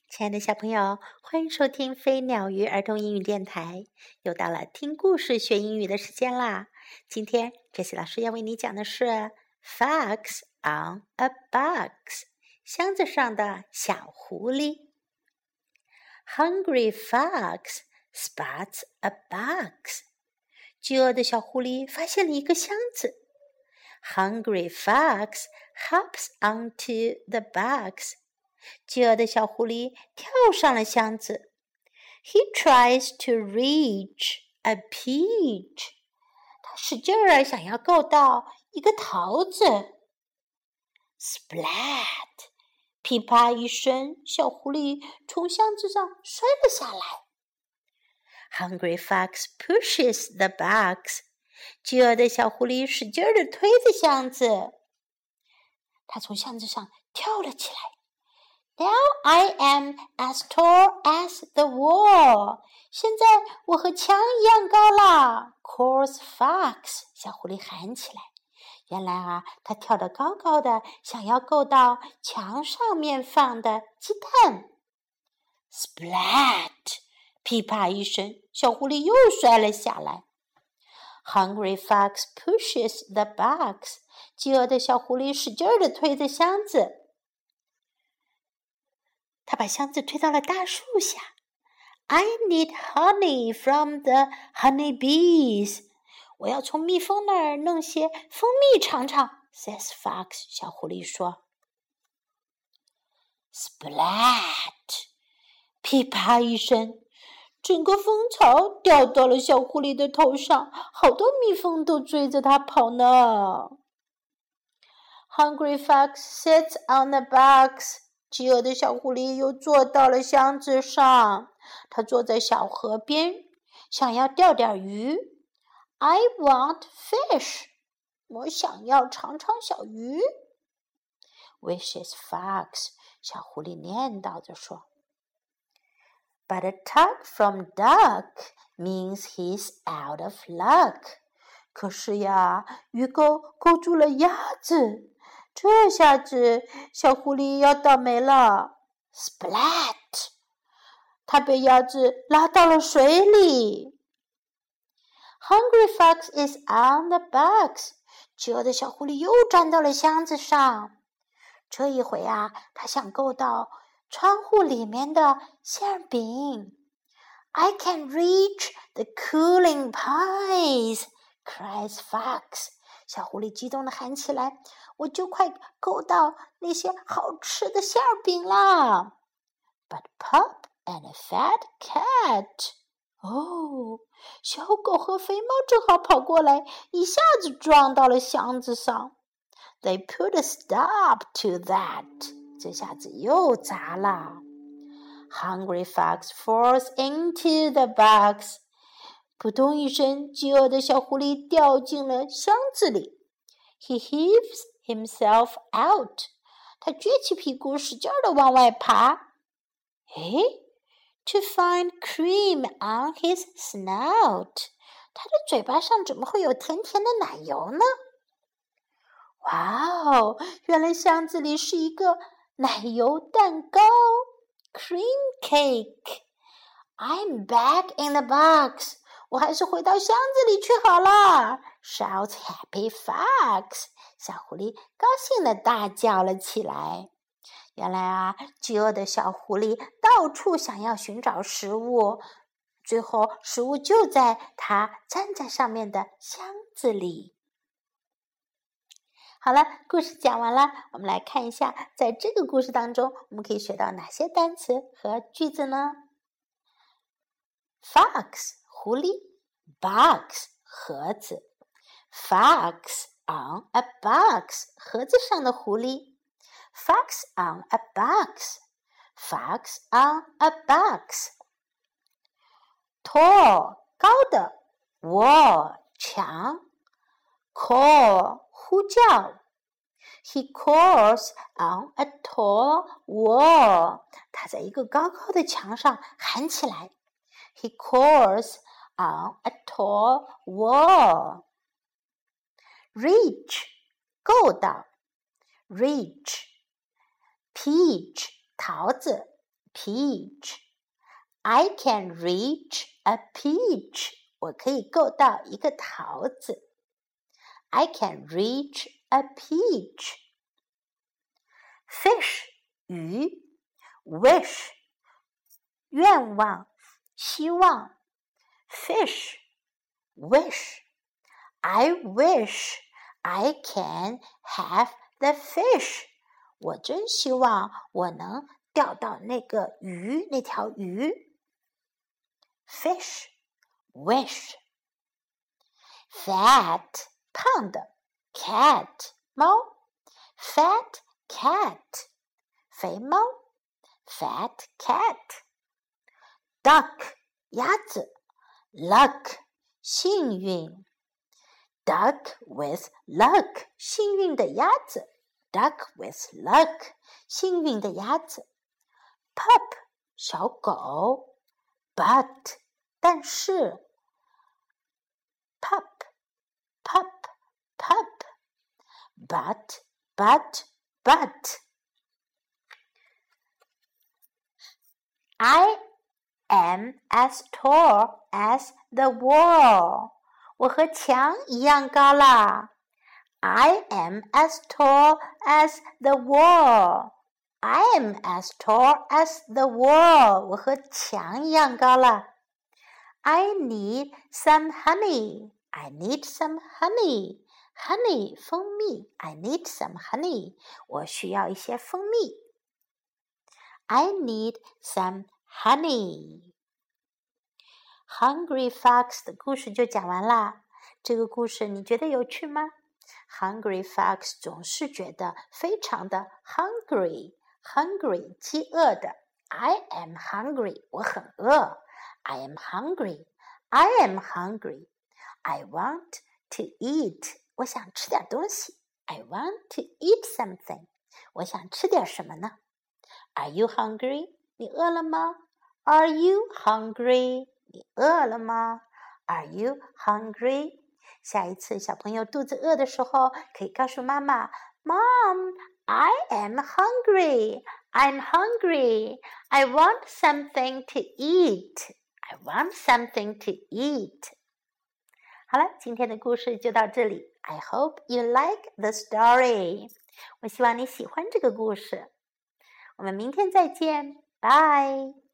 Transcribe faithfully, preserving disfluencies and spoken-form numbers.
亲爱的小朋友，欢迎收听飞鸟鱼儿童英语电台。又到了听故事学英语的时间啦！今天Jessie老师要为你讲的是 Fox on a Box， 箱子上的小狐狸。Hungry fox spots a box， 饥饿的小狐狸发现了一个箱子。Hungry fox hops onto the box，饥饿的小狐狸跳上了箱子。He tries to reach a peach， 他使劲儿想要够到一个桃子。Splat， 噼啪一声，小狐狸从箱子上摔了下来。Hungry fox pushes the box， 饥饿的小狐狸使劲儿地推着箱子。他从箱子上跳了起来。Now I am as tall as the wall. 现在我和墙一样高啦 calls Fox， 小狐狸喊起来。原来啊，他跳得高高的，想要够到墙上面放的鸡蛋。Splat！ 噼啪一声，小狐狸又摔了下来。Hungry Fox pushes the box， 饥饿的小狐狸使劲地推着箱子。他把箱子推到了大树下。I need honey from the honey bees。 我要从蜜蜂那儿弄些蜂蜜尝尝 says Fox， 小狐狸说。Splat！ 噼啪一声，整个蜂巢掉到了小狐狸的头上，好多蜜蜂都追着它跑呢。Hungry Fox sits on the box，饥饿的小狐狸又坐到了箱子上，它坐在小河边，想要钓点鱼。I want fish， 我想要尝尝小鱼。Wishes Fox， 小狐狸念叨着说。But a tug from duck means he's out of luck。可是呀，鱼钩勾住了鸭子。这下子小狐狸要倒霉了 Splat！ 它被鸭子拉到了水里。Hungry Fox is on the box， 饥饿的小狐狸又站到了箱子上。这一回啊，它想够到窗户里面的馅饼。I can reach the cooling pies， cries Fox。 小狐狸激动地喊起来，我就快够到那些好吃的馅饼啦 But Pup and a fat cat， 哦，小狗和肥猫正好跑过来，一下子撞到了箱子上。They put a stop to that， 这下子又砸了。Hungry Fox falls into the box， 扑通一声，饥饿的小狐狸掉进了箱子里。He heaves himself out， 他撅起屁股使劲地往外爬。诶 To find cream on his snout， 他的嘴巴上怎么会有甜甜的奶油呢？哇哦，原来箱子里是一个奶油蛋糕 Cream cake。 I'm back in the box， 我还是回到箱子里去好了 Shouts Happy Fox， 小狐狸高兴地大叫了起来。原来啊，饥饿的小狐狸到处想要寻找食物，最后食物就在它站在上面的箱子里。好了，故事讲完了，我们来看一下，在这个故事当中，我们可以学到哪些单词和句子呢？ Fox， 狐狸 Box， 盒子 Fox on a box， 盒子上的狐狸 Fox on a box， Fox on a box。 Tall， 高的 Wall， 墙 Call， 呼叫 He calls on a tall wall， 他在一个高高的墙上喊起来。He calls on a tall wall。 Reach， 够到 Reach。 Peach， 桃子 peach. I can reach a peach. 我可以够到一个桃子。I can reach a peach. Fish, 鱼。Wish, 愿望，希望。Fish, wish. I wish I can have the fish. 我真希望我能钓到那个鱼，那条鱼。Fish, wish. Fat, 胖的。Cat, 猫。Fat cat, 肥猫。Fat cat. Duck, 鸭子。Luck, 幸运。Duck with luck, 幸运的鸭子。Duck with luck, 幸运的鸭子。Pup, 小狗。But, 但是。Pup, pup, pup. But, but, but. I am as tall as the wall. 我和墙一样高啦。I am as tall as the wall. I am as tall as the wall. 我和墙一样高啦。I need some honey. I need some honey. Honey, 蜂蜜。I need some honey. 我需要一些蜂蜜。I need some honey. Hungry Fox 的故事就讲完啦。这个故事你觉得有趣吗？ Hungry Fox 总是觉得非常的 hungry, hungry 饥饿的。I am hungry 我很饿。I am hungry. I am hungry. I want to eat 我想吃点东西。I want to eat something 我想吃点什么呢？ Are you hungry? 你饿了吗？ Are you hungry? 你饿了吗？ Are you hungry? 下一次小朋友肚子饿的时候，可以告诉妈妈 Mom, I am hungry. I'm hungry. I want something to eat. I want something to eat. 好了，今天的故事就到这里。I hope you like the story. 我希望你喜欢这个故事。我们明天再见，拜。